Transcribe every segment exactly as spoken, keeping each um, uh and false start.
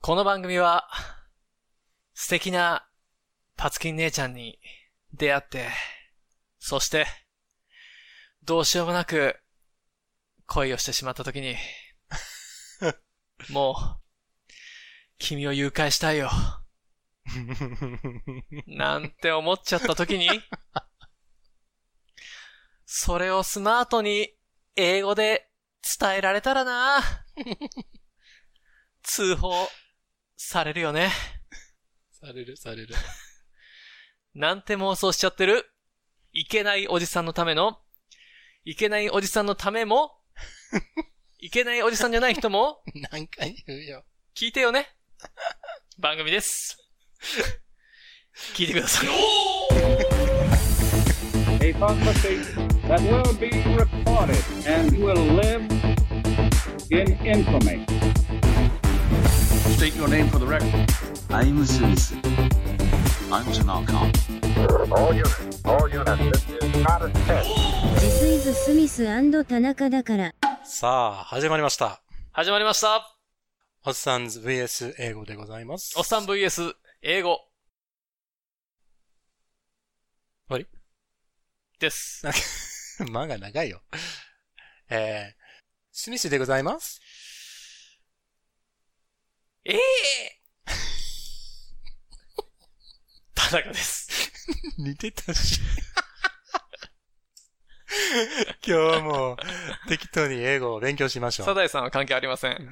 この番組は素敵なパツキン姉ちゃんに出会って、そしてどうしようもなく恋をしてしまったときにもう君を誘拐したいよなんて思っちゃったときに、それをスマートに英語で伝えられたらな通報されるよね。 されるされるなんて妄想しちゃってるいけないおじさんのための、いけないおじさんのためもいけないおじさんじゃない人も何回言うよ。 聞いてよね。番組です。聞いてください。 A prophecy that will be recorded and will live in infamy. State your name for the record. I'm Smith. I'm Tanaka. All units, all units, this is not a test. This is Smith 田中だから。 さあ、始まりました。 始まりました。 おっさんズ ブイエス 英語でございます。 おっさん ブイエス 英語。 終わりです。 間が長いよ。えー、スミスでございます。 ええー、田中です。 似てたし。今日も適当に英語を勉強しましょう。 サダイさんは関係ありません。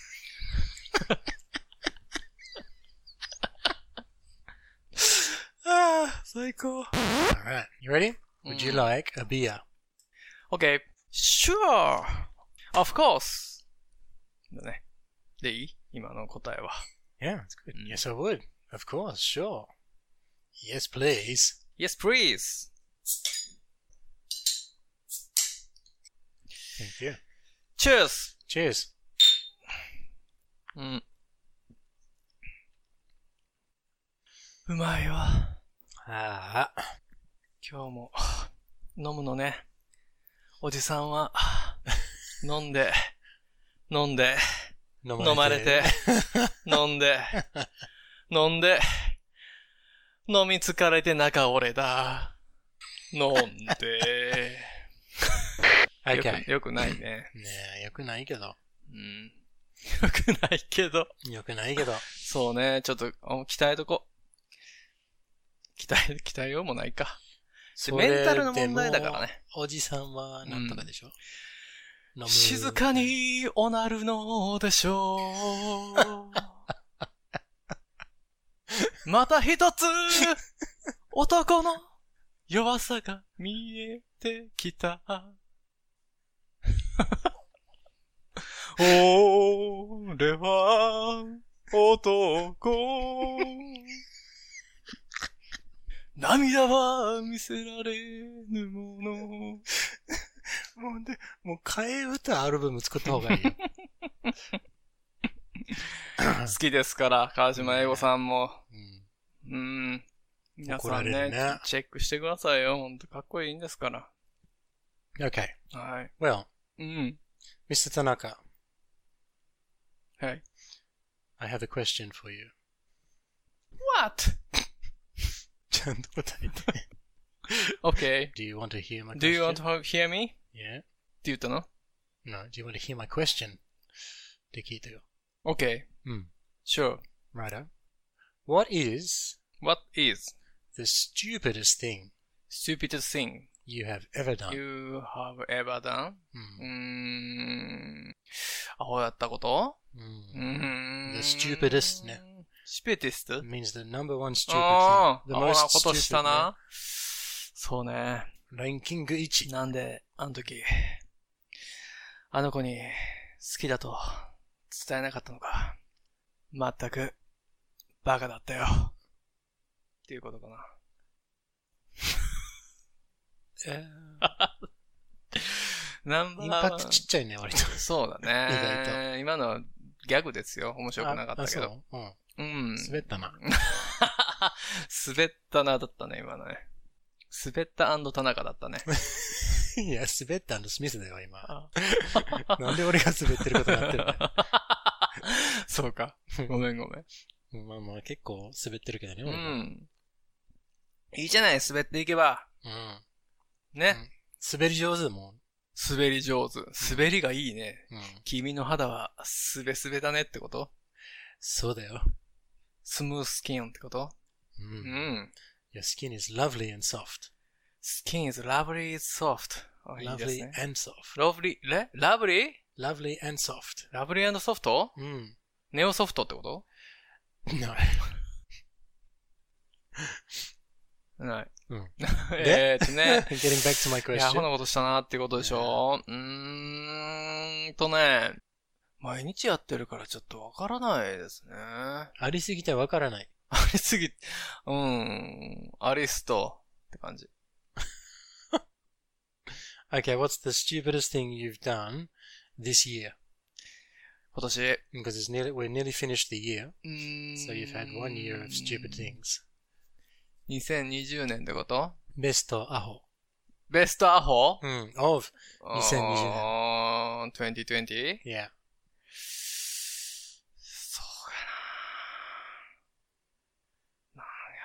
ああ、最高。Alright, you ready? Would you like a beer? Okay, sure. Of course. だね。でいい？今の答えは。 Yeah, that's good. Yes, I would. Of course, sure. Yes, please. Yes, please. Thank you. Cheers. Cheers. うん。うまいわ。 ああ。 今日も飲むのね。おじさんは飲んで、飲んで、飲まれて、飲んで、飲んで、飲み疲れて中折れだ。飲んで。 Okay. よく、よくないね。 ねえ、よくないけど。 うん。よくないけど。 よくないけど。 そうね、ちょっと、鍛えとこ。鍛え、鍛えようもないか。メンタルの問題だからね。 おじさんはなんとかでしょ、 うん、静かにおなるのでしょう。また一つ、男の弱さが見えてきた。俺は男。涙は見せられぬもの。 もうで、もう替え歌アルバム作った方がいいよ。 好きですから、川島英語さんも。 うん。 うん。皆さんね、 ねチェックしてくださいよ。ほんとかっこいいんですから。 Okay. はい。 Well, うん。 ミスター Tanaka. はい。 I have a question for you. What? ちゃんと答えて。 Okay. Do you want to hear my question? Do you want to hear me? Yeah. って言ったの No, do you want to hear my question? って聞いたよ。 Okay. うん。 Sure. Righto. What is What is the stupidest thing stupidest thing you have ever done? you have ever done? ううーん。アホやったこと？ ん。 うーん。 The stupidest ね。 stupidest? means the number one stupid あ thing. あ、ア The ホな most ことした stupid な。そうね。 ね。ランキングいち。 なんで、あの時、あの子に好きだと伝えなかったのか。まったく、バカだったよ。っていうことかな。 えナンバーー、インパクトちっちゃいね、割と。 そうだね。 意外今のはギャグですよ。面白くなかったけど。 ああそう。 うん。 うん。滑ったな。 滑ったなだったね、今のね。滑った&田中だったね。 いや、滑った&スミスだよ、今。なんで俺が滑ってることになってるんだよ。 そうか。ごめんごめん。 まあまあ結構滑ってるけどね。 うん。いいじゃない、滑っていけば。 うん。 ね。 うん、滑り上手もん。 滑り上手。滑りがいいね。 うん。 君の肌はすべすべだねってこと？ そうだよ。 スムースキンってこと？ うん。 うん。 Your skin is lovely and soft. Skin is lovely soft. Lovely and soft. Lovely, え Lovely? Lovely and soft. Lovely and soft? うん。 ネオソフトってこと？ No. ない。 うん。 えーっとね。 Getting back to my question. いや、こんなことしたなっていうことでしょ、うーんとね。毎日やってるからちょっとわからないですね。 ありすぎてわからない。 ありすぎ、うん。アリストって感じ。 Okay, what's the stupidest thing you've done this year? 今年。 Because it's nearly, we're nearly finished the year. うーん So you've had one year of stupid things. にせんにじゅうねんってこと？ ベストアホ。 ベストアホ？ うん。of にせんにじゅうねん。 あー、にせんにじゅう？ Yeah. そうやな。なんや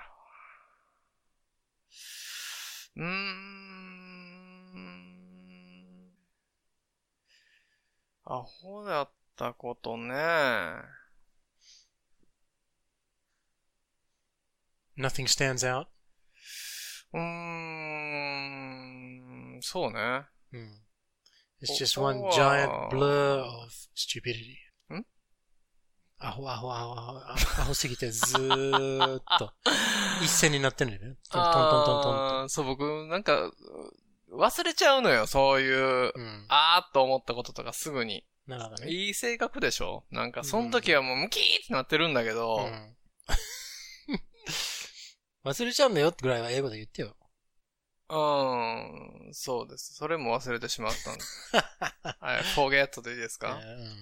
ろう。うーん。アホだったことね。 Nothing stands out? うーん、そうね。 うん。It's just one giant blur of stupidity. ん？ アホアホアホアホアホすぎてずーっと一線になってるんだよね。トントントントントンと。 そう、僕、なんか、忘れちゃうのよ、そういう、うん、あーっと思ったこととかすぐに。 なるほどね。 いい性格でしょ？なんか、その時はもうムキーってなってるんだけど、うん忘れちゃうんだよってぐらいは英語で言ってよ。 うーん、そうです。それも忘れてしまったんです。はい、forget でいいですか？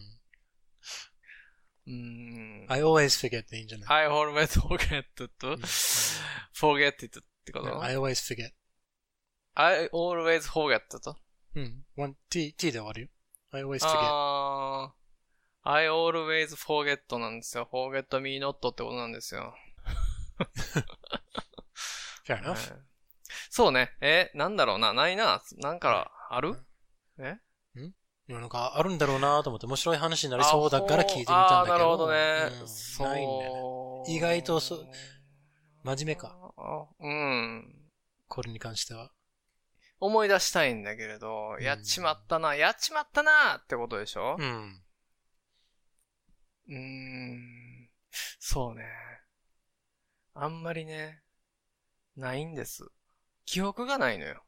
うーん。 I always forget でいいんじゃない？ I always forget と、forget it ってこと？ I always forget. I always forget と？ うん。one t, t で終わるよ。I always forget. あー、I always forget なんですよ。forget me not ってことなんですよ。 Fair enough. そうね。え、なんだろうな。ないな。なんか、ある？え？ ん？いや、なんか、あるんだろうなと思って、面白い話になりそうだから聞いてみたんだけど。 あ、なるほどね。 うん、 そう。 ないんだよね。意外とそ、真面目か。 うん。 これに関しては。 思い出したいんだけれど、やっちまったな、やっちまったなってことでしょ？ うん。 うーん。そうね。あんまりね、ないんです。記憶がないのよ。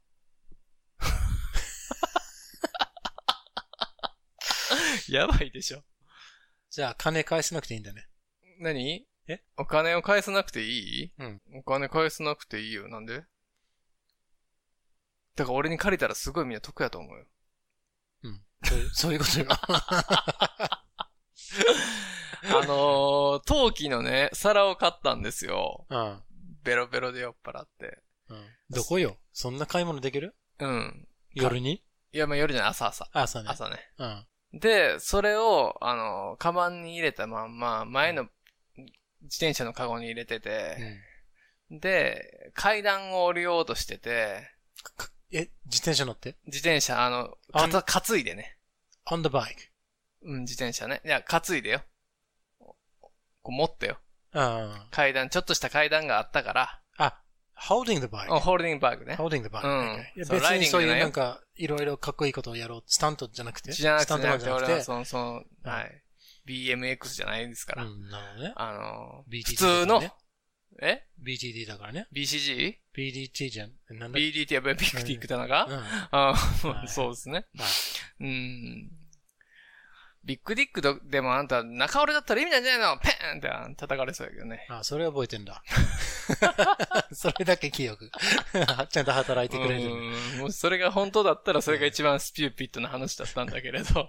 やばいでしょ。 じゃあ、金返せなくていいんだね。 何？ え？ お金を返さなくていい？ うん。 お金返さなくていいよ。なんで？だから俺に借りたらすごいみんな得やと思うよ。 うん。そういう、そういうことよ。 あのー、陶器のね、皿を買ったんですよ。 うん。 ベロベロで酔っ払って。 うん。どこよ？そんな買い物できる？ うん。 夜に？ いや、まあ夜じゃない、朝朝。 朝ね。 朝ね。 うん。 で、それを、あの、カバンに入れたまんま、前の自転車のカゴに入れてて、うん、で、階段を降りようとしてて、 え、自転車乗って？ 自転車、あの、かた、担いでね。 on the bike? うん、自転車ね。いや、担いでよ。こう持ってよ。 うん。 階段、ちょっとした階段があったから。 あ、holding the bike? うん、holding the bike ね。 holding the bike. うん。 Okay. 別にそういうなんか、いろいろかっこいいことをやろう。スタントじゃなくてじゃなくて、 スタントマンじゃなくて。 俺はその、その、はい。ビーエムエックス じゃないですから。 うん、なるほどね。 あの、 ビーティーティー普通の、えビーティーティー だからね。 ビーシージー? ビーディーティー じゃん。なんだビーディーティー はビッグティックだなか、うん、ああ、そうですね。うん。ビッグディックでもあんた中折れだったら意味なんじゃないのペーンって叩かれそうやけどね。 ああ、それは覚えてんだ。それだけ記憶。ちゃんと働いてくれる。 うん。もしそれが本当だったらそれが一番スピューピットな話だったんだけれど。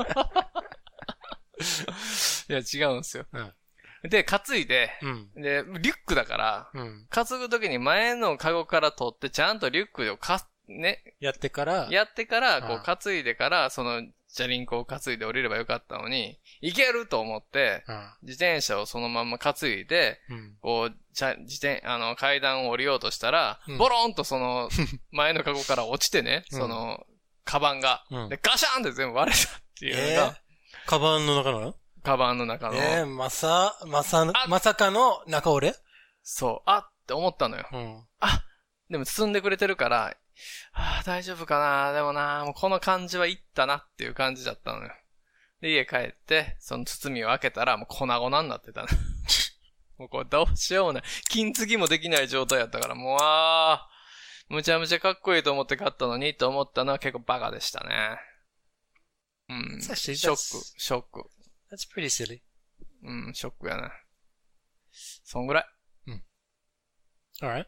いや、違うんですよ。うんで、担いで、うん、で、リュックだから、うん、担ぐときに前のカゴから取って、ちゃんとリュックをか、ね。 やってから、 やってから、こう担いでから、その、 チャリンコを担いで降りればよかったのに、行けると思って、 うん、 自転車をそのまま担いで、 うん、 こう、じゃ、自転、あの、階段を降りようとしたら、 うん、 ボロンとその、前のカゴから落ちてね、 うん、 その、カバンが、 うん、 で、ガシャーンって全部割れたっていうのが、 えー、カバンの中のカバンの中の。 えー、まさ、まさ、まさかの中折れそう、あって思ったのよ。 うん、 あ、でも包んでくれてるから、ああ、大丈夫かな、でもな、もうこの感じはいったなっていう感じだったのよ。で、家帰って、その包みを開けたら、もう粉々になってたね。もうこれどうしようもない。金継ぎもできない状態やったから、もうあー、むちゃむちゃかっこいいと思って買ったのに、と思ったのは結構バカでしたね。うん。ショック、ショック。 That's pretty silly. うん、ショックやな。そんぐらい。 うん。Alright.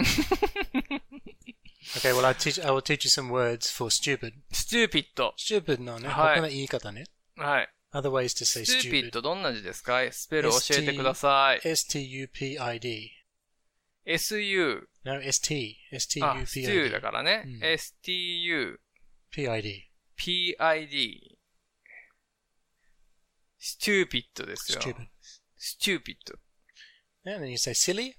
Okay, well, I'll teach, I will teach you some words for stupid. stupid. stupid のね、 はい、 他の言い方ね。 はい。 Other ways to say stupid. stupid どんな字ですか？スペル教えてください。 エスティーユーピーアイディー。 エスユー。 No, エスティー。エスティーユーピーアイディー。 あ、ステューだからね。うん、エスティーユー。 ピーアイディー。 ピーアイディー。stupid ですよ。 stupid. stupid. And then you say silly?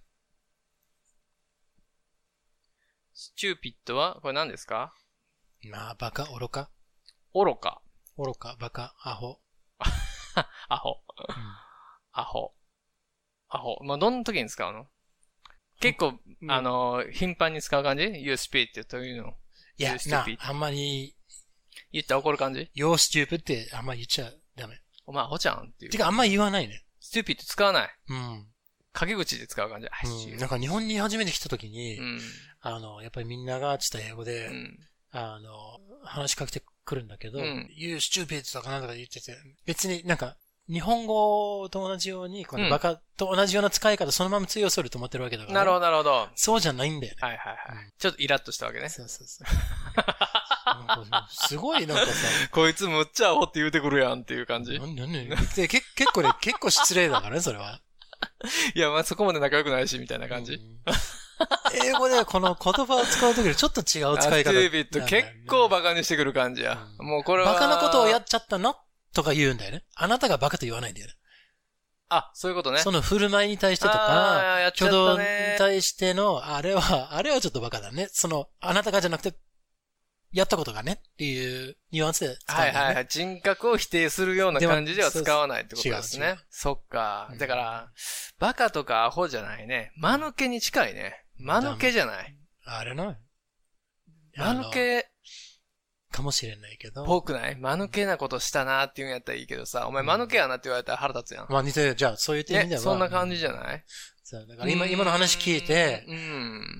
stupid はこれ何ですか？ まあ、バカ、愚か。 愚か。 愚か、バカ、アホ。 アホ。アホ。アホ。まあ、どんな時に使うの？結構、うん、あの、頻繁に使う感じ？ You stupid というの。 いや、な、あんまり。 言ったら怒る感じ？ You're stupid ってあんまり言っちゃダメ。 お前アホちゃんっていう。 てかあんまり言わないね。 stupid 使わない。 うん。 陰口で使う感じ。 うん、なんか日本に初めて来た時に、 うん、 あの、やっぱりみんながちょっと英語で、うん、あの、話しかけてくるんだけど、うん、You stupid とかなんとか言ってて、別になんか、日本語と同じように、このバカと同じような使い方、そのまま通用すると思ってるわけだから、ね。 なるほど、なるほど。 そうじゃないんだよね。 はいはいはい。うん、ちょっとイラッとしたわけね。 そうそうそう。すごいなんかさ。 こいつむっちゃアホって言うてくるやんっていう感じ。 なんでなんで結構ね、結構失礼だからね、それは。 いや、まあそこまで仲良くないし、みたいな感じ。うん、 英語でこの言葉を使うときにちょっと違う使い方。 スティービット結構バカにしてくる感じや。うん、もうこれは。 バカなことをやっちゃったのとか言うんだよね。あなたがバカと言わないんだよね。 あ、そういうことね。 その振る舞いに対してとか、挙動に対しての、あれは、あれはちょっとバカだね。その、あなたがじゃなくて、やったことがねっていうニュアンスで使うんだよね。 はいはいはい。人格を否定するような感じでは使わないってことですね。そっか。だから、バカとかアホじゃないね。間抜けに近いね。間抜けじゃない。 あれな。 間抜け。 かもしれないけど。 ぽくない？間抜けなことしたなっていうんやったらいいけどさ、お前間抜けやなって言われたら腹立つやん。 まあ似てる。じゃあそういう意味では。 そんな感じじゃない？ そう。だから今、今の話聞いて、 うん。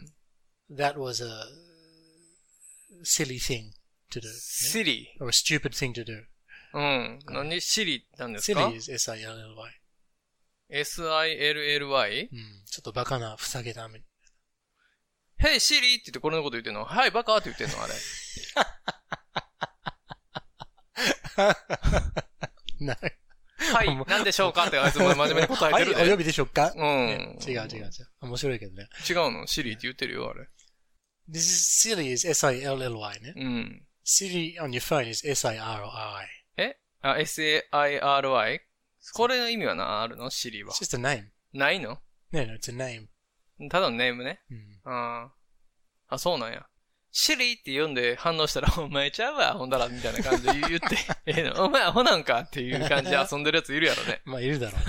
That was a silly thing to do. silly? Or a stupid thing to do. うん。何 silly なんですか？ silly is S I L L Y. S I L L Y? うん。ちょっとバカな、ふさげため。 Hey Siri って言ってこれのこと言ってんの？はい、バカって言ってんのあれ。 なはい、なんでしょうかってあいつも真面目に答えてるで。 はい、お呼びでしょうか？ うん、 ね。違う違う違う。面白いけどね。 違うの？シリって言ってるよ、あれ。 This is silly is S I L L Y ね。 うん。 Siri on your phone is S I R I. えあ、エスエーアイアールワイ？ これの意味は何あるの？シリは。 It's just a name. ないの？ No, no, it's a name. ただのネームね。 うん。 ああ、そうなんや。シリって読んで反応したら、お前ちゃうわ、ほんだら、みたいな感じで言って、ええの、お前アホなんかっていう感じで遊んでるやついるやろね。 まあ、いるだろ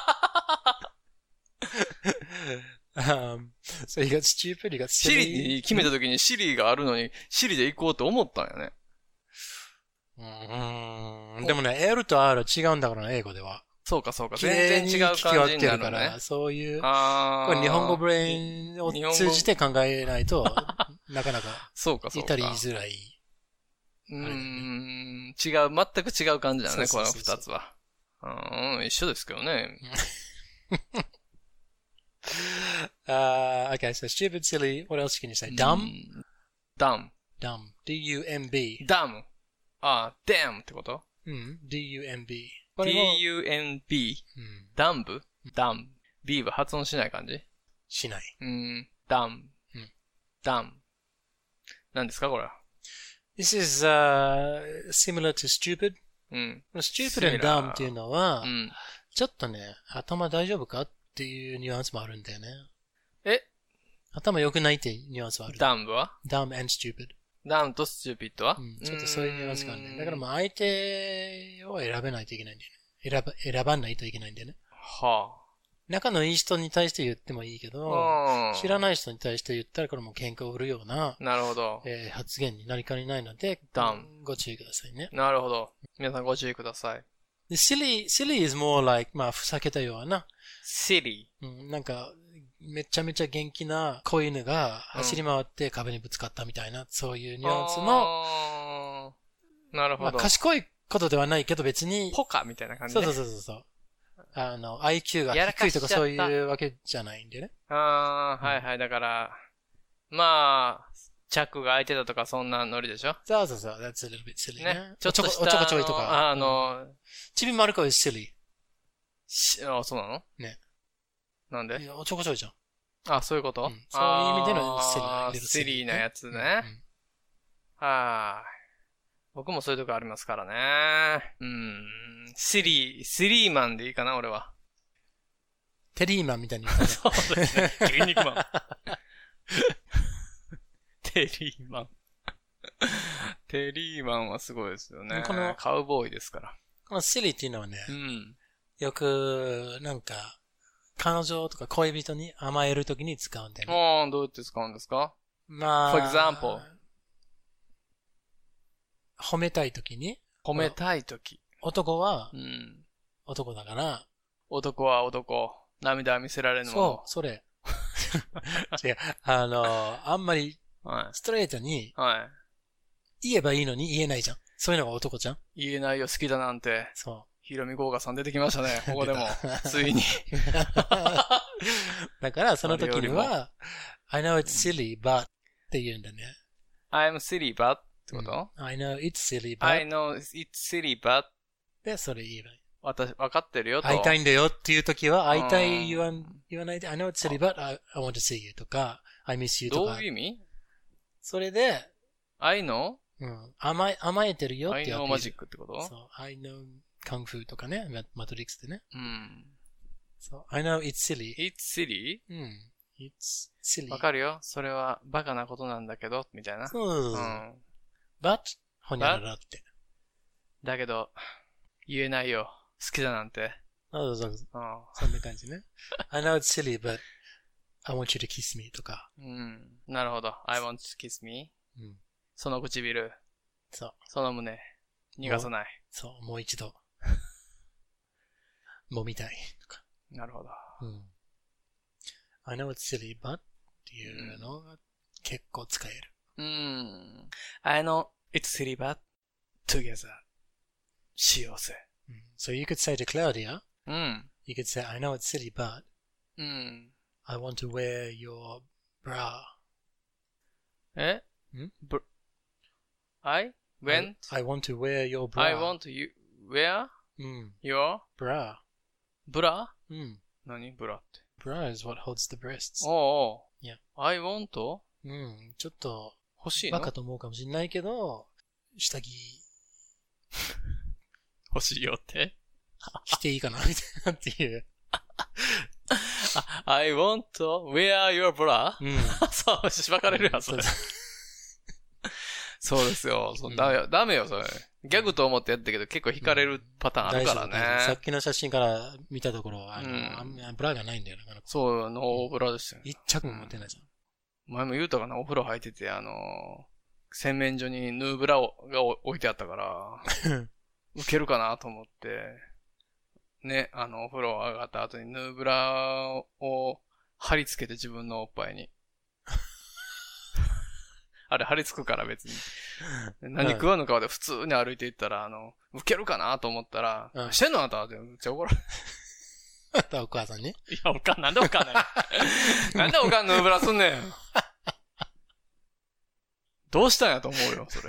うね。um, so you got stupid, you got silly. シリに決めた時にシリがあるのに、シリで行こうと思ったんやね。 うーん。でもね、L と R は違うんだからね、英語では。 そうかそうか。全然違う感じになるね。 そういう、 あこれ日本語ブレインを通じて考えないと、なかなか、 そうかそうか。 いたり言いづらい。 うーん、違う、全く違う感じだね、この二つは。うん、一緒ですけどね。 uh, okay, so stupid, silly, what else can you say? Dumb? Dumb. Dumb. D U M B. Dumb. ああ、damn ってこと？ うん。D U M B. D U M B。ダンブ？ダン。B は発音しない感じ？ しない。 うん。ダン。ダン。何ですかこれは。 This is, uh, similar to stupid. うん。 stupid and dumb っていうのは、 うん、 ちょっとね、頭大丈夫かっていうニュアンスもあるんだよね。 え頭良くないっていうニュアンスはある。 dumb は ?dumb and stupid。 dumb と stupid は、 うん、ちょっとそういうニュアンスがあるね。だからまあ相手を選べないといけないんだよね。選ば、選ばないといけないんだよね。 はあ。 仲のいい人に対して言ってもいいけど、知らない人に対して言ったらこれも喧嘩を売るような、 なるほど。 えー、発言になりかねないので、 dumb。 ご注意くださいね。 なるほど。皆さんご注意ください。 で silly, silly is more like, まあ、ふざけたような。 silly。 うん、なんか、めちゃめちゃ元気な子犬が走り回って壁にぶつかったみたいな、うん、そういうニュアンスの、 なるほど。 まあ、賢いことではないけど別に、 ポカみたいな感じで。そうそうそうそう。あの、アイキュー が低いとかそういうわけじゃないんでね。 ああ、はいはい。だから、まあ、チャックが開いてたとかそんなノリでしょ？ そうそうそう。That's a little bit silly ね。 ねちょっとしたおちょこちょいとか。 あの、 ちびまる子 is silly。 し、あ、そうなの？ ね。 なんで？ いや、おちょこちょいじゃん。 あ、そういうこと？うん、 そういう意味での silly。シリーなやつね。うんうん、はい。僕もそういうとこありますからね。うん。シリー、シリーマンでいいかな、俺は。 テリーマンみたいに言ったね。 そうですね。筋肉マン。テリーマン。テリーマンはすごいですよね。このカウボーイですから。 このシリーっていうのはね、 うん、 よく、なんか、彼女とか恋人に甘えるときに使うんだよね。 ああ、どうやって使うんですか？ まあ、 for example。 褒めたいときに。 褒めたいとき。 男は、 うん、 男だから。 男は男。涙は見せられぬもの。 そう、それ。違う。あの、あんまり、ストレートに、 はい。 言えばいいのに言えないじゃん。そういうのが男じゃん。 言えないよ、好きだなんて。 そう。 ひろみごうがさん出てきましたね、ここでも。ついに。 だから、その時には、I know it's silly, but って言うんだね。 I'm silly, but ってこと、 うん、?I know it's silly, but I know it's silly, but で、それ言えばいい。 私、分かってるよと。 会いたいんだよっていう時は、会いたい言わん、言わないで、I know it's silly, but I, I want to see you とか、I miss you とか。 どういう意味？ それで、 I know? うん。甘え、甘えてるよってやつ。 I know マジックってこと？ そう。I know カンフーとかね。マトリックスでね。 うん。 そう。I know it's silly. It's silly? うん。It's silly. わかるよ。それはバカなことなんだけど、みたいな。 そうそうそう。うん。but, ほにゃららって。 だけど、言えないよ。好きだなんて。 そうそうそう。そんな感じね。I know it's silly, but I want you to kiss me とか。 うん。なるほど。I want to kiss me? うん。 その唇。 そう。 その胸。逃がさない。 そう、もう一度。もみたい。とか。 なるほど。 うん。I know it's silly, but っていうのが結構使える。 うん。I know it's silly, but together しようぜ。 So you could say to Claudia, うん。 You could say, I know it's silly, but うん。 I want to wear your bra. えん br- I went? I, I want to wear your bra. I want to wear うん。 your bra. ブラうん。 何ブラって。 bra is what holds the breasts. おうおう。 Yeah. I want? うん。ちょっと、 欲しいの？ バカと思うかもしれないけど、下着、 欲しいよって着ていいかなみたいなっていう。 I want to wear your bra? うん。 そう、しばかれるやつ。そうですよ。そう、うん、ダメよ、ダメよ、それ。ギャグと思ってやったけど結構惹かれるパターンあるからね。 さっきの写真から見たところ、あの、うん、ブラがないんだよな。 そう、ノーブラですよ。 一着も持ってないじゃん。 前も言うたかな、お風呂入ってて、あの、洗面所にヌーブラをが置いてあったから、受けるかなと思って、ね、あの、お風呂上がった後にヌーブラを貼り付けて自分のおっぱいに。あれ貼り付くから別に。何食わぬ顔で普通に歩いていったら、あの、受けるかなと思ったら、うん、してんのあんたってめっちゃ怒られる。 あんたお母さんに？いや、おかん、なんでおかんねん。なんでおかんヌーブラすんねん。どうしたんやと思うよ、それ。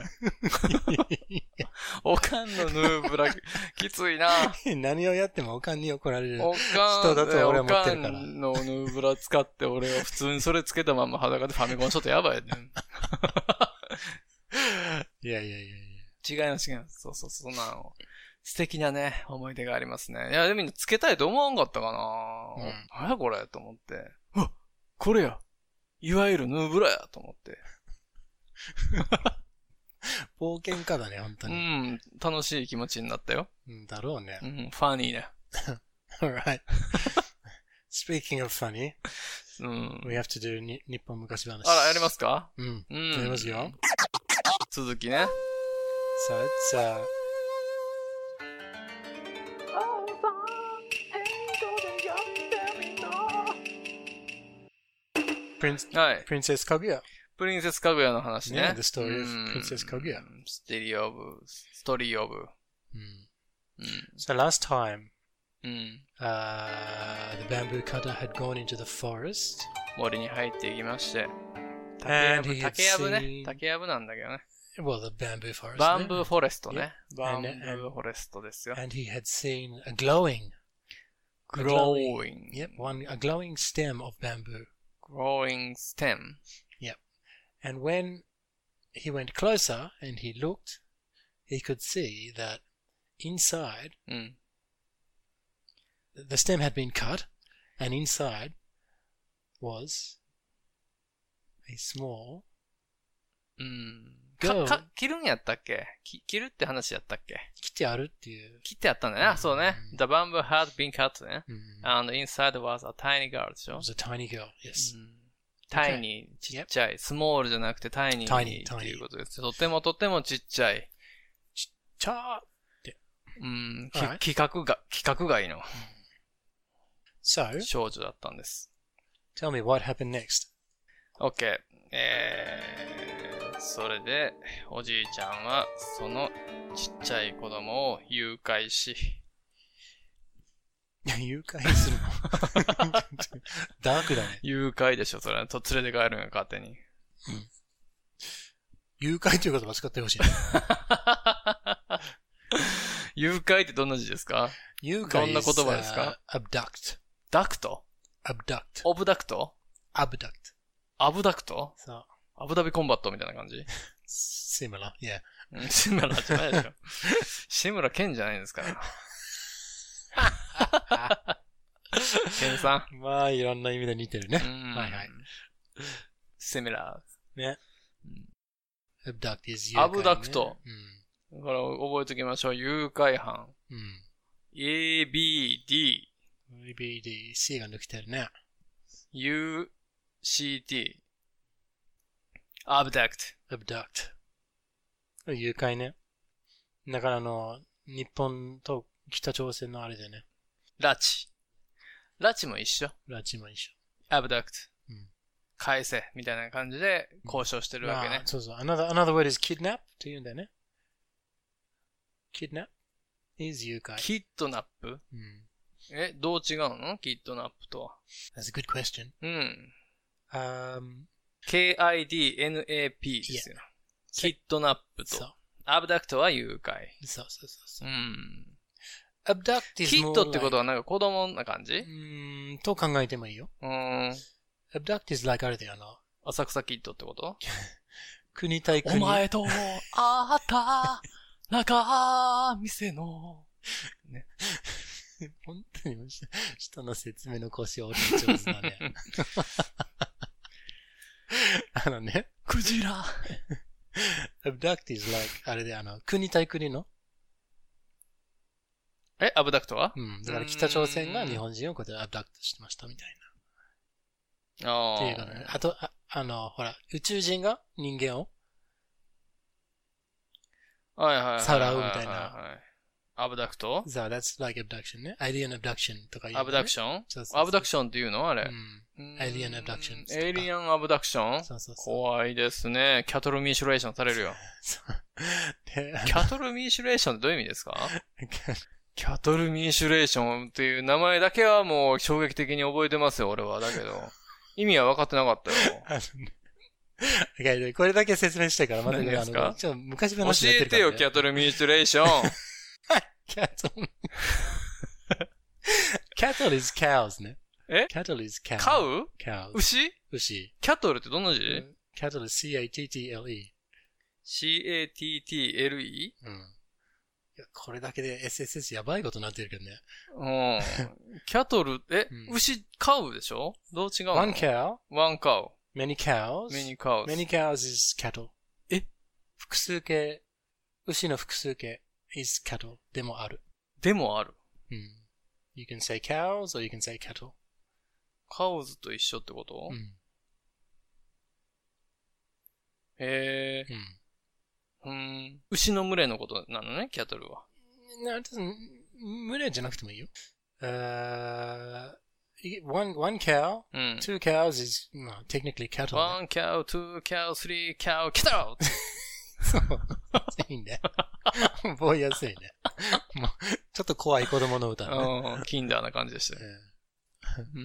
おかんのヌーブラ、きついな。 何をやってもおかんに怒られるおかん人だと俺は思ってるから。 おかんのヌーブラ使って俺は普通にそれつけたまま裸でファミコンしとってやばいね。 いいやいやいやいや。 違います違います。そうそうそう。そんなの。素敵なね、思い出がありますね。いや、でもみんなつけたいと思わんかったかな、うん、何やこれと思って。あ、これや。いわゆるヌーブラやと思って。 冒険家だね、本当に。 うん、楽しい気持ちになったよ。 うん、だろうね。 うん、ファニーね。 Alright. Speaking of funny, うん、 we have to do に日本昔話。 あら、やりますか？ うん。うん。やりますよ。 続きね。 So it's, uh, Prince, はい。Princess Kaguya. プリンセスかぐやの話ね。 Yeah, the story of Princess Kaguya. ストーリーオブ、ストーリーオブ。 うん。So last time, うん。 Uh, the bamboo cutter had gone into the forest. 森に入っていきまして。竹やぶ、竹やぶね。竹やぶなんだけどね。 Well, the bamboo forest. バンブーフォレストね。 Yep. バンブーフォレストですよ。 And he had seen a glowing, glowing. Yep, one a glowing stem of bamboo. Glowing stem. Yep. And when he went closer and he looked, he could see that inside, うん。 the stem had been cut, and inside was a small うん。 girl. か、か、切るんやったっけ？き切るって話やったっけ？ 切ってあるっていう。 切ってあったんだね。あ、そうね。The bamboo had been cut ね。 うん。 And inside was a tiny girl でしょ？ It was a tiny girl, yes. うん、タイニー、ちっちゃい。スモールじゃなくてタイニーっていうことです。とてもとてもちっちゃい。 ちっちゃーって。 うん。き、規格が、規格外の。 So? 少女だったんです。 Tell me what happened next. OK。えー、それで、おじいちゃんは、そのちっちゃい子供を誘拐し、 誘拐するのダークだね。 誘拐でしょ、それ。と連れて帰るんが勝手に。うん。 誘拐という言葉使ってほしい、ね。 誘拐ってどんな字ですか？ 誘拐どんな言葉ですか？ abduct. ダクト？ abduct. オブダクト？ abduct. アブダクト？ そう。 アブダビコンバットみたいな感じ？ similar, yeah. シムラじゃないでしょ。シムラケンじゃないんですから。ケンさん。まあ、いろんな意味で似てるね。はいはい。 シミラー。ね。abduct is 誘拐、ね。アブダクト。うん。だから覚えておきましょう。誘拐犯。 うん。 エービーディー。 エービーディー、C が抜けてるね。 ユーシーティー。abduct。 abduct。誘拐ね。だからあの、日本と北朝鮮のあれでね。 拉致。拉致も一緒。 拉致も一緒。 abduct。 うん。 返せ。みたいな感じで交渉してるわけね。 まあ、そうそう。Another, another word is kidnap って言うんだよね。kidnap is 誘拐。 キッドナップ？うん。え、どう違うの？キッドナップとは。 That's a good question. うん。 Um, ケーアイディーエヌエーピー ですよ。キッドナップと。そう。アブダクトは誘拐。 そうそうそう。 うん。 abduct is キッドってことはなんか子供な感じ？うーん、と考えてもいいよ。 うん。 abduct is like あれだよな。 浅草キッドってこと国対国。 お前と会った中店の。ね。 本当に人の説明の腰折り上手だね。あのね。 クジラ。 abduct is like あれであの、国対国のえ、アブダクトは？ うん。だから北朝鮮が日本人をこうやってアブダクトしてましたみたいな。 ああ。 っていうかね。あと、あ、あの、ほら、宇宙人が人間をはいはいはい。 さらうみたいな。 アブダクト？ そう、that's like abduction ね。alien abduction とか言う、ね。 アブダクション？ そうそうそう。 アブダクションっていうのあれ。 うん。alien abduction。 エイリアンアブダクション？ そうそうそう。 怖いですね。キャトルミーシュレーションされるよ。キャトルミーシュレーションってどういう意味ですか？キャトルミーシュレーションっていう名前だけはもう衝撃的に覚えてますよ、俺は。だけど、意味は分かってなかったよ。 これだけ説明したから、まだ何ですか？ ちょっと昔話になってるから、ね。教えてよ、キャトルミーシュレーション。 キャトル。キャトル is cows ね。 え？ キャトル is cows。 カウ？ cows。 牛？ 牛。 キャトルってどんな字？ キャトル C A T T L E。 シーエーティーティーエルイー? うん。いや、これだけで エスエスエス やばいことになってるけどね。 うん。キャトル、え、 うん、 牛、カウでしょ？どう違うの？ one cow, one cow, many cows, many cows. many cows is cattle. え？ 複数形、牛の複数形 is cattle でもある。 でもある。 うん。You can say cows or you can say cattle. カウズと一緒ってこと？ うん。 へえ。 うん。 うん。牛の群れのことなのね、キャトルは。 な、群れじゃなくてもいいよ。Uh, one, one cow, うん。 two cows is, no, technically cattle. one cow, two cow, three cow, cattle! そう。いいね。覚えやすいね。もうちょっと怖い子供の歌ね。 うん。キンダーな感じでしたよ。うん。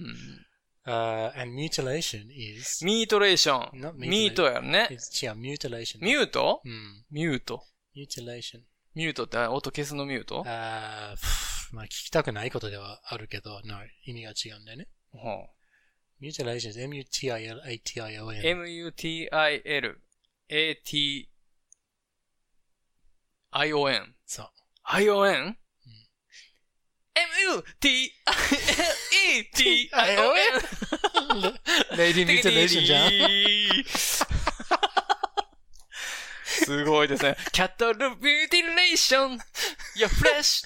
Uh, and mutilation is ミートレーション。 not mutilation. ミートやね。 違う、mutilation. ミュート？ うん。 ミュート。 mutilation. ミュートって音消すのミュート？ あー、まあ聞きたくないことではあるけど、no, 意味が違うんだよね。 はあ、 mutilation is M U T I L A T I O N. M U T I L A T I O N。 そう。 アイオーエヌ？ エムユーティーアイエルイーティーアイオーエヌレイディーミューティレーションじゃん。 すごいですね。キャトルミューティレーション You're fresh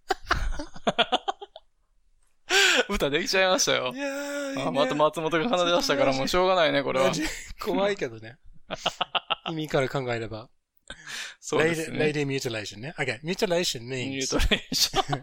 歌できちゃいましたよ。いやーいいね、あ、また松本が話し出したからもうしょうがないね、これは。 怖いけどね。意味から考えれば。 そうですね。 Lady mutilation ね。Okay, mutilation means. mutilation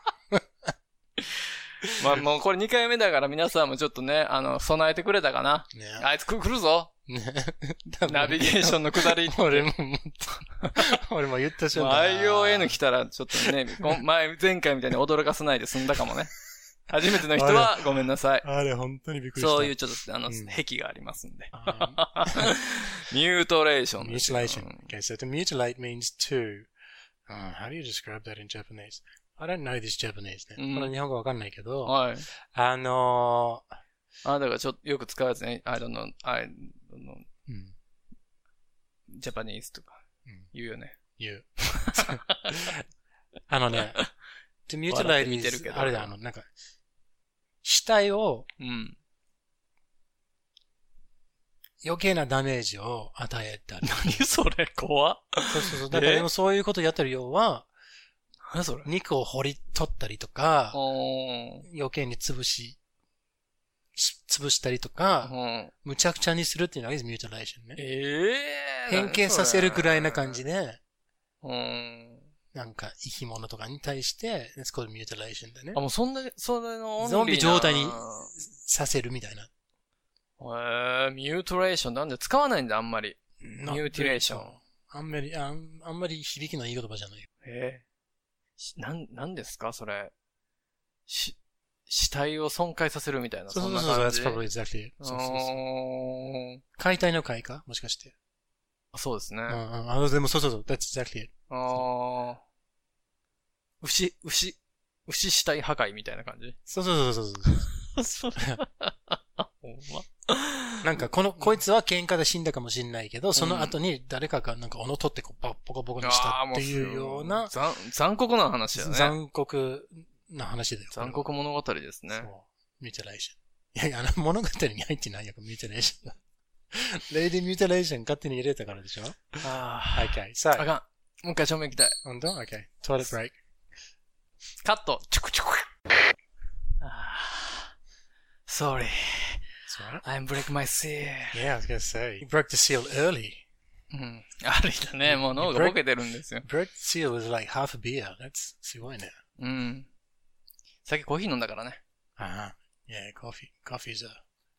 まあもうこれにかいめだから皆さんもちょっとね、あの、備えてくれたかな。ね、あいつ来るぞ。ね、ナビゲーションの下り。 俺も、俺も言ったしょ。 アイオーエヌ 来たらちょっとね、前、前回みたいに驚かせないで済んだかもね。初めての人はごめんなさい。 あれ、本当にびっくりした。 そういうちょっと、あの、うん、癖がありますんで。ミュートレーション。 mutilation. Okay, so to mutilate means to. Uh, how do you describe that in Japanese? I don't know this Japanese ね。うん、この日本語わかんないけど。はい。あのー、あ、だからちょっとよく使うやつね。I don't know, I don't know. うん、Japanese とか言うよね。 言う。あのね、to mutilate is あれだ、あの、なんか、死体を、うん、余計なダメージを与えたり。 何それ怖っ。 そうそうそう。だからでもそういうことやってるようは、 何それ肉を掘り取ったりとか、余計に潰し、潰したりとか、むちゃくちゃにするっていうのがミューティレーションね。 ええー、変形させるくらいな感じで、なんか生き物とかに対して、it's called mutilation だね。 あ、もうそんな、それのゾンビ状態にさせるみたいな。 えー、ミュートレーションなんで使わないんだ、あんまり。ミューティレーション。 あんまり、あん、あんまり響きのいい言葉じゃないよ。 えー、なん、なんですかそれ。し、死体を損壊させるみたいな。 そうそうそう、that's probably exactly. そうそうそう。解体の解かもしかして。 あ、そうですね。 ああ、でもそうそうそう、that's exactly it. ああ。牛、牛、牛死体破壊みたいな感じそうそうそうそうそう。ほんまなんか、この、こいつは喧嘩で死んだかもしれないけど、その後に誰かがなんか斧取ってこう、ボコボコにしたっていうような。 残、残酷な話だね。 残酷な話だよ。 残酷物語ですね。そう。 ミューティレーション。いやいや、あの物語に入ってないよ、ミューティレーション。レイディミューティレーション勝手に入れたからでしょああ。OK。さあ。 あかん。もう一回正面行きたい。 本当 ?OK。トイレットブレイク。 カット。チュクチュク。Sorry. I'm breaking my seal. Yeah, I was gonna say. You broke the seal early. うん。あれだね。もう脳がボケてるんですよ。 broke the seal was like half a beer. That's すごいね。 うん。さっきコーヒー飲んだからね。 ああ。Yeah, coffee. Coffee is a,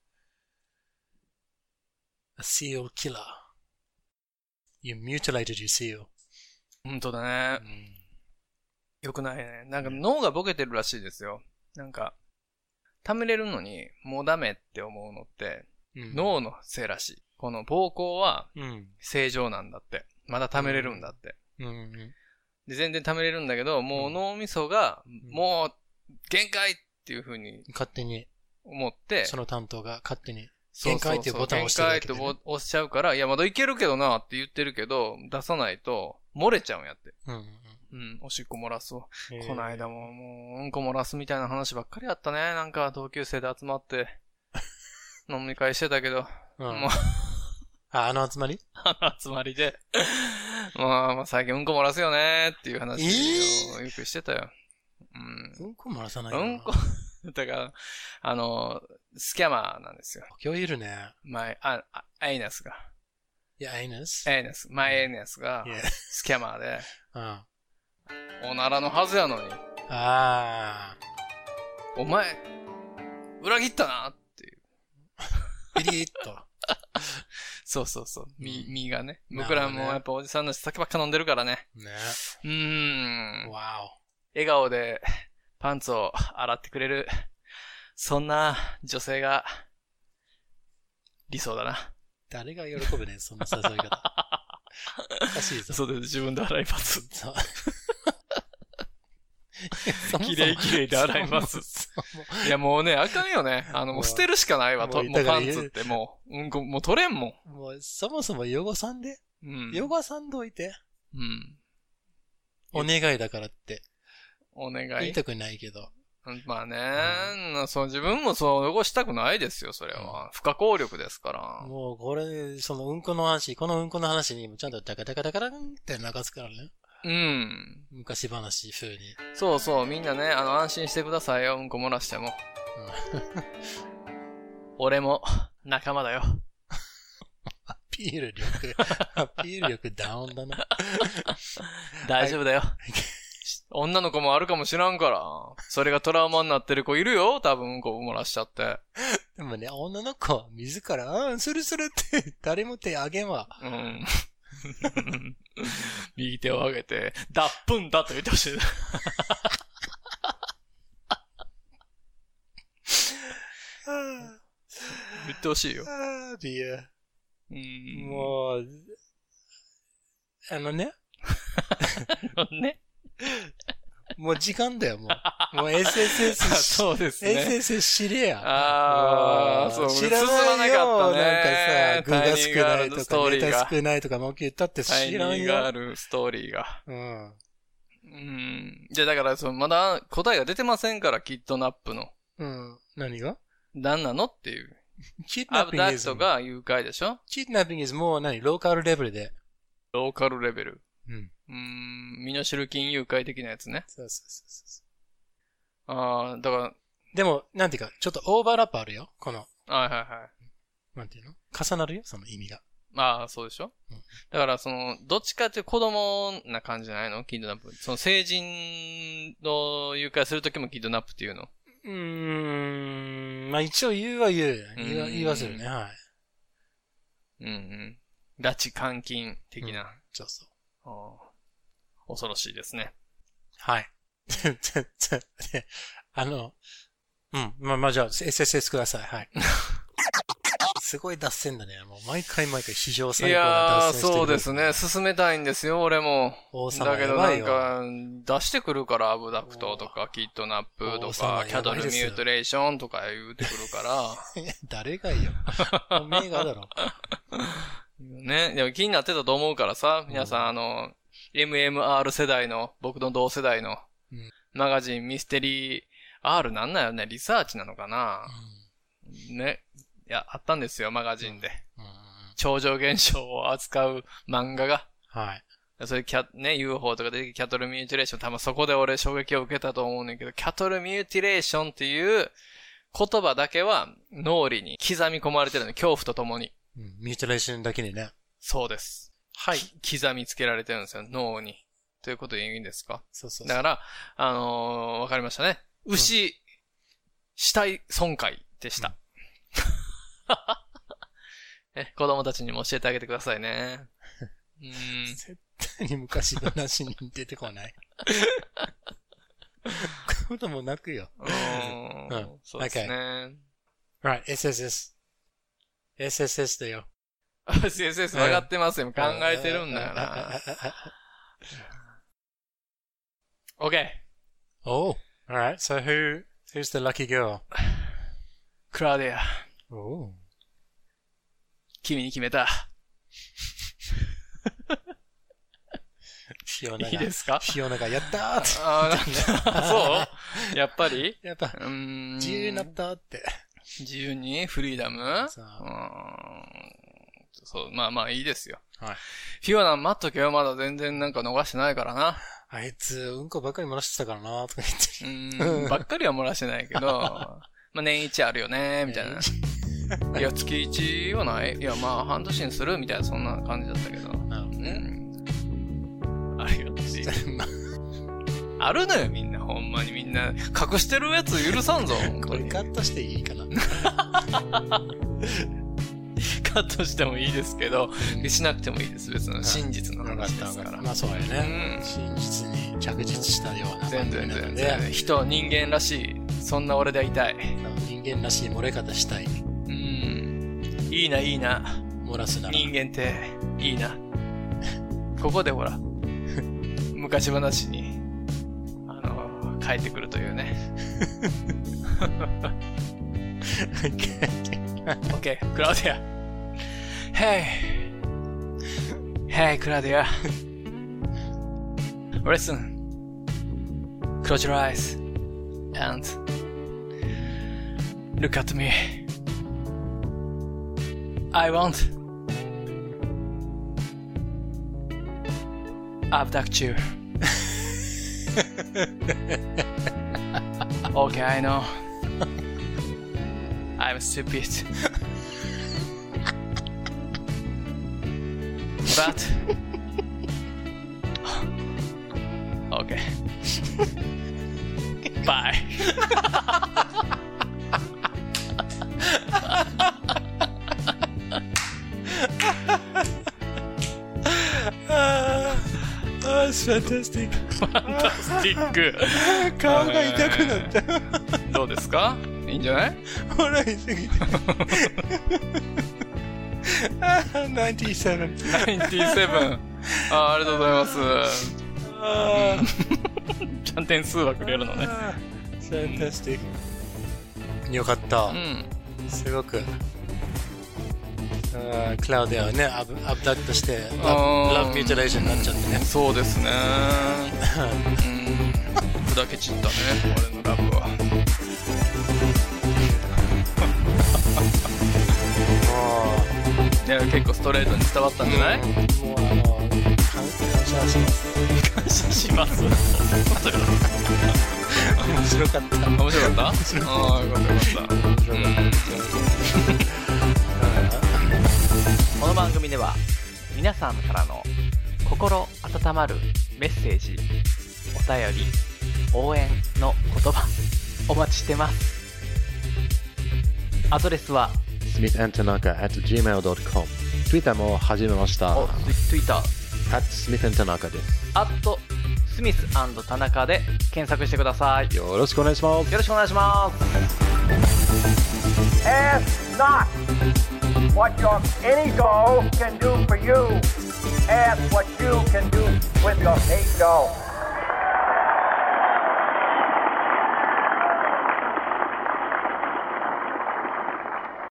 a seal killer. You mutilated your seal. 本当だね。うん、よくないね。なんか脳がボケてるらしいですよ。なんか、溜めれるのにもうダメって思うのって、うん、脳のせいらしい。この膀胱は正常なんだって。まだ溜めれるんだって。うんうん、で全然溜めれるんだけど、もう脳みそが、もう限界っていう風に勝手に思って、 その担当が勝手に。 限界っていうボタンを押してるだけで、ね。 限界って押しちゃうから、いや、まだいけるけどなって言ってるけど、出さないと漏れちゃうんやって。うん、うん。うん、おしっこ漏らすわ。この間ももう、うんこ漏らすみたいな話ばっかりあったね。なんか同級生で集まって、飲み会してたけど、うん、もうあ、あの集まりあの集まりで、まあ、まあ最近うんこ漏らすよねっていう話をよくしてたよ。 うん、うんこ漏らさないよな。 うんこ、だから、あの、スキャマーなんですよ。 今日いるね。 前、あ、あ、エイナスが。 いや、エイナスエイナス。前エイナスが、スキャマーで、うん、おならのはずやのに。ああ。お前、裏切ったなっていう。 ピリッと。 そうそうそう。み、みがね。僕らもやっぱおじさんの酒ばっか飲んでるからね。ね。うーん。わお。笑顔でパンツを洗ってくれる。そんな女性が理想だな。 誰が喜ぶね、そんな誘い方。おかしいぞ。 そうです。自分で洗います。きれいきれいで洗います。いやもうね、あかんよね。あの、もう捨てるしかないわ。もうパンツってもう、うんこ、もう取れんもん。 もう、そもそも汚さんで。うん。汚さんどいて。うん。お願いだからって。 お願い。 言いたくないけど。 まあね、うん、そう、自分もそう汚したくないですよ、それは。うん、不可抗力ですから。 もう、これ、そのうんこの話、このうんこの話にもちゃんとダカダカダカダンって流すからね。うん。昔話風に。 そうそう、みんなね、あの、安心してくださいよ、うんこ漏らしても。うん、俺も、仲間だよ。 アピール力、アピール力ダウンだな。 大丈夫だよ。女の子もあるかもしらんから。それがトラウマになってる子いるよ、多分、うんこ漏らしちゃって。 でもね、女の子は自ら、ああ、するするって誰も手あげんわ。うん。 右手を上げて、脱粉だと言ってほしい。言ってほしいよ。 ああ、いや。うん。もう、あのね。 あのね。 もう時間だよ、もう。もう エスエスエス。 そうですね。 エスエスエス 知れや。 ああ、そう。 知らないよ。なんかさ、具が少ないとか、ネタ少ないとか、もう言ったって知らんよ。 タイミングがあるストーリーが。うん。うん。じゃあだから、その、まだ答えが出てませんから、キッドナップの。 うん。何が何なのっていう。キッドナッピング。アブダクトが誘拐でしょ？ キッドナッピング is もう何ローカルレベルで。 ローカルレベル。うん。うーん、身代金誘拐的なやつね。そうそうそうそう。ああ、だから。 でも、なんていうか、ちょっとオーバーラップあるよ、この。 はいはいはい。 なんていうの重なるよ、その意味が。 ああ、そうでしょ、うん、だから、その、どっちかっていう子供な感じじゃないのキッドナップ。その、成人の誘拐するときもキッドナップっていうのうーん、まあ一応言うは言う。言うは、言いはするね、はい。 うんうん。拉致監禁的な。うん、 そうそう。 恐ろしいですね。 はい。あの、うん。まあ、まあ、じゃあ、エスエスエス ください。はい。すごい脱線だね。もう毎回毎回史上最高な脱線してる。 いやー、そうですね。進めたいんですよ、俺も。 王様だけどなんか、出してくるから、アブダクトとか、キッドナップとか、キャトルミュートレーションとか言うてくるから。 誰がいいよ。おめえがだろ。 ね。でも気になってたと思うからさ、皆さん、うん、あの、エムエムアール 世代の、僕の同世代の、うん、マガジンミステリー R なんなんよね、リサーチなのかな、うん、ね。いや、あったんですよ、マガジンで。うん、超常現象を扱う漫画が。はい。それキャ、ね、ユーフォー とかでキャトルミューティレーション、多分そこで俺衝撃を受けたと思うねんけど、キャトルミューティレーションっていう言葉だけは脳裏に刻み込まれてるの、恐怖とともに。 うん、ミューティレーションだけにね。 そうです。はい。刻みつけられてるんですよ、脳に。ということでいいんですか？そうそうそう。だから、あのー、わかりましたね。牛、うん、死体損壊でした。うんえ、子供たちにも教えてあげてくださいね。 うん、絶対に昔話に出てこない。子供泣くよ。うん。 そうですね。 Right, エスエスエス。エスエスエス だよ。 エスエスエス 分かってますよ。考えてるんだよな。Okay. Oh, alright. So who, who's the lucky girl? Claudia. Oh. 君に決めた。 フィオナが。 いいですか？ フィオナがやったーって。 あそうやっぱりやっぱ、 うーん自由になったって。 自由にフリーダムそう。 そう、まあまあいいですよ。 はい。 フィオナ待っとけよ、まだ全然なんか逃してないからな。 あいつ、うんこばっかり漏らしてたからなとか言ってる。うん、ばっかりは漏らしてないけど、まあ年一あるよねみたいな。いや、月一はない。いや、まあ半年にするみたいな、そんな感じだったけど。 なるほどね。 うん、あるよし。あるのよ、みんな。ほんまにみんな。隠してるやつ許さんぞ。 これカットしていいかなカットしてもいいですけど、うん、しなくてもいいです。別の真実の話ですから。 まあそうやね、うん。真実に着実したような全然全然。人、人間らしい。そんな俺でいたい。 人間らしい漏れ方したい。 うん。いいな、いいな。 漏らすなら。 人間って、いいな。ここでほら、昔話に、あの、帰ってくるというね。OK, Claudia. Hey. Hey, Claudia. Listen. Close your eyes and look at me. I want abduct you. Okay, I know. I'm stupid. But okay. Bye. Oh, it's fantastic. ファンタスティック。 顔が痛くなった。 どうですか？いいんじゃない？ 笑いすぎて。ナインティーセブン。 ナインティーセブン。あ、ありがとうございます。あちゃん点数はくれるのね。 ファンタスティック。よかった。うん。すごく。クラウディアはね、アブダクトしてラブミューティレーションになっちゃってね。 そうですね。うん。砕け散ったね、俺のラブは。ね、結構ストレートに伝わったんじゃない？うん、もうあの感謝します。 感謝します。 面白かった。 面白かった？ああ、よかったよかった。面白かった。 この番組では皆さんからの心温まるメッセージ、お便り、応援の言葉お待ちしてます。アドレスはスミス アンド タナカ アット ジーメール ドット コム Twitter も始めました。 お、Twitter アット スミス アンド タナカ です。 アットスミス アンド タナカ で検索してください。 よろしくお願いします。 よろしくお願いします。 Ask not what your ego can do for you. Ask what you can do with your ego.